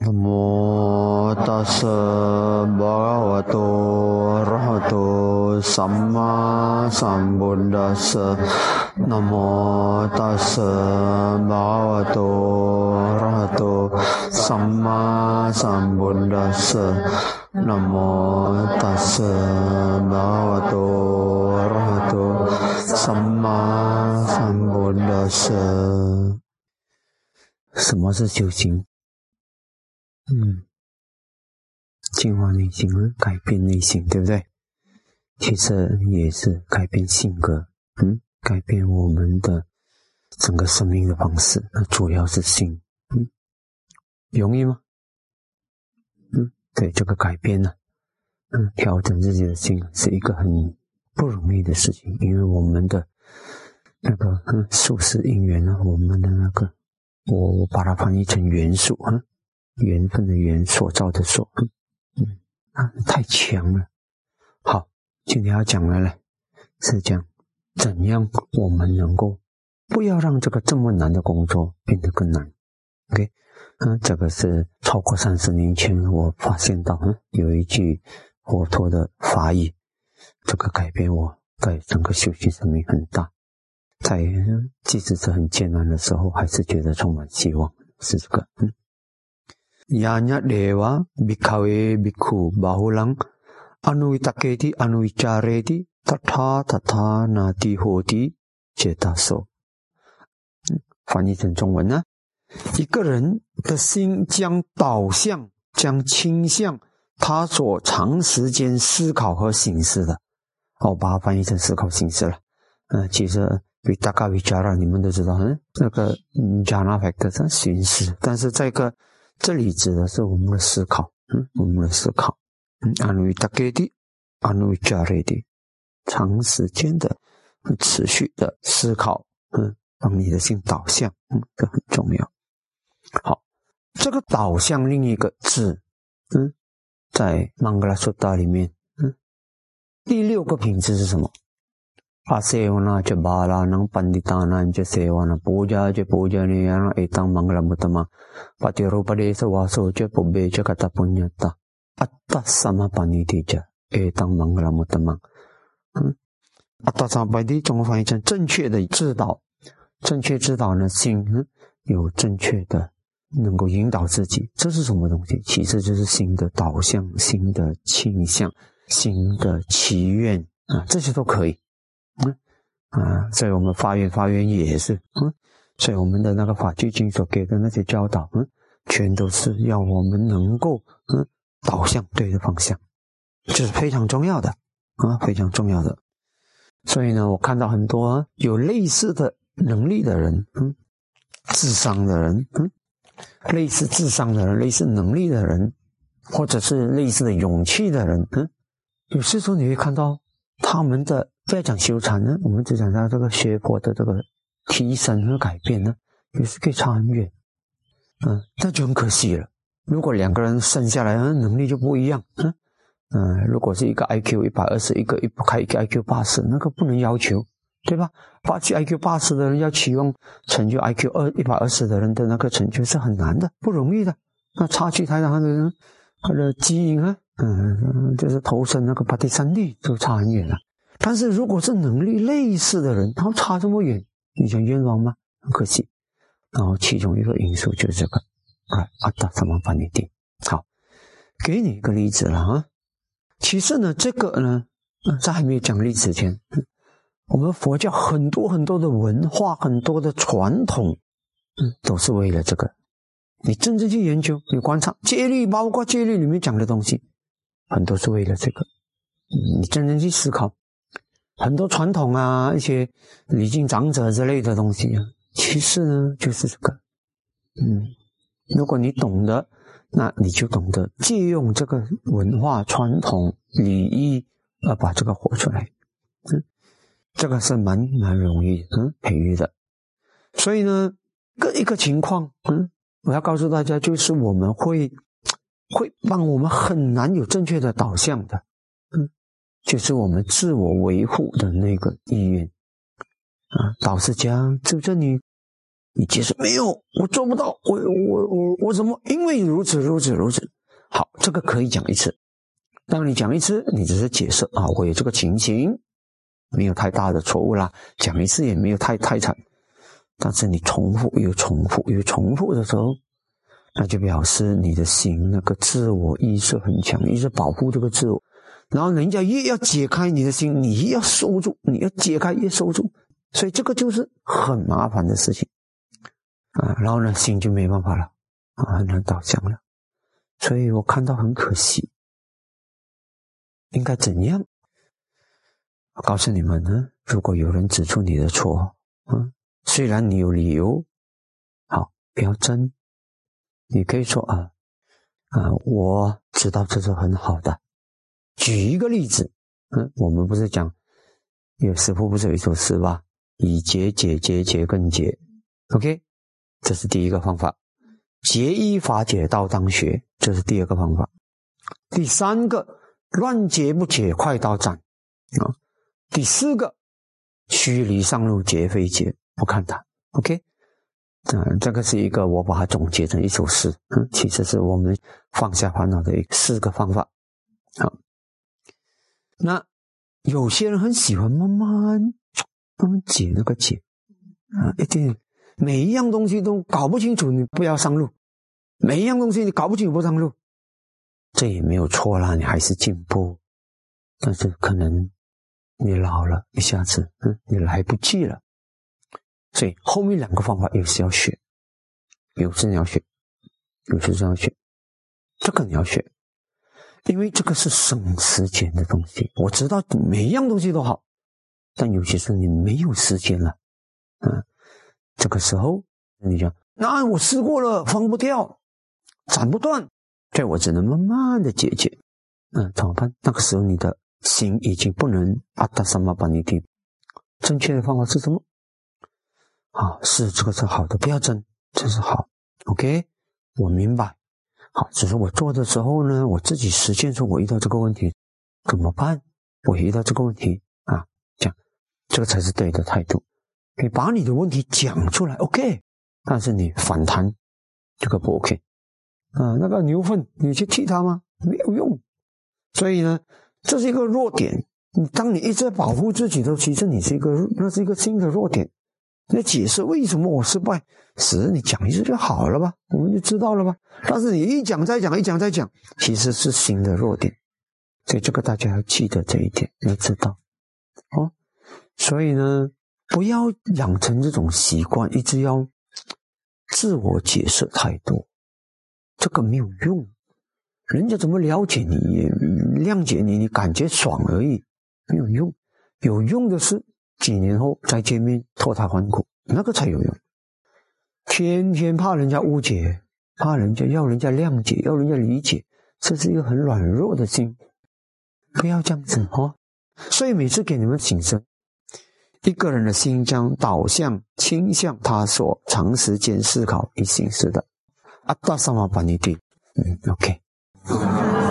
Namo tassa bhagavato arahato samma sambuddhassa. Namo tassa bhagavato arahato samma sambuddhassa. Namo tassa bhagavato arahato samma sambuddhassa。什么是修行？净化内心，改变内心，对不对？其实也是改变性格，改变我们的整个生命的方式。那主要是心，容易吗？对，这个改变呢，调整自己的心是一个很不容易的事情，因为我们的那个宿世因缘呢，我们的那个，我把它翻译成元素缘分的缘，所造的所，太强了。好，今天要讲的呢是讲怎样我们能够不要让这个这么难的工作变得更难。OK， 这个是超过30年前我发现到有一句佛陀的法语，这个改变我在整个修行生命很大。在即使是很艰难的时候，还是觉得充满希望，是这个。Yanya deva bhikkhave bhikkhu bahulang anuvitaketi anuvicareti tatha tatha nati hoti cetaso。翻译成中文呢，一个人的心将导向、将倾向他所长时间思考和行事的。我把它翻译成思考行事了。其实Vitaka Vichara 你们都知道，那个 Jhana Factor 是行事，但是这里指的是我们的思考，我们的思考。Anuvitaketi anuvicareti 长时间的、持续的思考，让你的心导向，这很重要。好，这个导向另一个字，在 Mangala Sutta 里面，第6个品质是什么？Asevana ca balanang panditanang ca sevana puja ca pujaneyana etang mangalamuttama patirupadesa vaso ca pubbe ca kata punyata atta samapaniti ca etang mangalamuttama。atta samapaniti 中文翻译成正确的指导，正确指导呢，心有正确的能够引导自己，这是什么东西？其实就是心的导向、心的倾向、心的祈愿这些都可以。所以我们发愿也是，所以我们的那个法句经所给的那些教导，全都是要我们能够导向对的方向，这是非常重要的非常重要的。所以呢，我看到很多有类似的能力的人，智商的人，类似智商的人，类似能力的人，或者是类似的勇气的人，有时候你会看到他们的，不要讲修禅呢，我们只讲到这个学佛的这个提升和改变呢，也是可以差很远。那就很可惜了。如果2个人生下来能力就不一样，如果是一个 IQ 120，一个IQ 80，那个不能要求，对吧？IQ 80的人要期望成就 IQ 120的人的那个成就是很难的，不容易的。那差距太大的人，他的基因就是投生那个巴蒂三力就差很远了。但是如果是能力类似的人，他差这么远，你想冤枉吗？很可惜。然后其中一个因素就是这个阿达萨玛巴尼蒂。好，给你一个例子了其实呢，这个呢，在还没有讲例子前，我们佛教很多很多的文化，很多的传统，都是为了这个。你真正去研究，你观察戒律，包括戒律里面讲的东西，很多是为了这个。你真正去思考，很多传统一些礼敬长者之类的东西其实呢就是这个。如果你懂得，那你就懂得借用这个文化传统礼仪把这个活出来。这个是蛮容易培育的。所以呢，一个情况我要告诉大家，就是我们会让我们很难有正确的导向的，就是我们自我维护的那个意愿导师讲，就这你你解释没有，我做不到，我怎么？因为如此。好，这个可以讲一次。当你讲一次，你只是解释啊，我有这个情形，没有太大的错误啦，讲一次也没有太惨。但是你重复的时候，那就表示你的心那个自我意识很强，一直保护这个自我。然后人家越要解开你的心，你越要收住，你要解开越收住，所以这个就是很麻烦的事情啊。然后呢，心就没办法了啊，很难导向了。所以我看到很可惜，应该怎样？我告诉你们呢，如果有人指出你的错，虽然你有理由，好，不要争，你可以说我知道这是很好的。举一个例子，我们不是讲有师父不是有一首诗吧？以节解节，节更节 ，OK， 这是第一个方法。节依法解道当学，这是第二个方法。第三个，乱解不解，快刀斩啊。第四个，虚离上路，节非节，不看它 ，OK。这个是一个我把它总结成一首诗，其实是我们放下烦恼的4个方法。好，那有些人很喜欢慢慢解那个解一定每一样东西都搞不清楚，你不要上路；每一样东西你搞不清楚不上路，这也没有错啦，你还是进步。但是可能你老了，一下子你来不及了。所以后面2个方法有时要学，有时你要学，这个你要学，因为这个是省时间的东西。我知道每一样东西都好，但有些时候你没有时间了，这个时候你讲，那我试过了，放不掉，斩不断，对，我只能慢慢的解决，怎么办？那个时候你的心已经不能阿达萨玛巴尼蒂。正确的方法是什么？是这个是好的，不要争，这是好 ，OK， 我明白。好，只是我做的时候呢，我自己实践说我遇到这个问题怎么办？我遇到这个问题讲这个才是对的态度。你把你的问题讲出来 ，OK， 但是你反弹这个不 OK 那个牛粪你去踢它吗？没有用。所以呢，这是一个弱点。当你一直在保护自己的时候，其实那是一个新的弱点。你解释为什么我失败，你讲一次就好了吧，我们就知道了吧。但是你一讲再讲，其实是新的弱点。所以这个大家要记得这一点，要知道所以呢，不要养成这种习惯，一直要自我解释太多，这个没有用。人家怎么了解你，谅解你，你感觉爽而已，没有用。有用的是几年后再见面脱胎换骨，那个才有用。天天怕人家误解，要人家谅解，要人家理解，这是一个很软弱的心，不要这样子所以每次给你们醒声，一个人的心将导向倾向他所长时间思考与行事的阿达萨玛巴尼蒂OK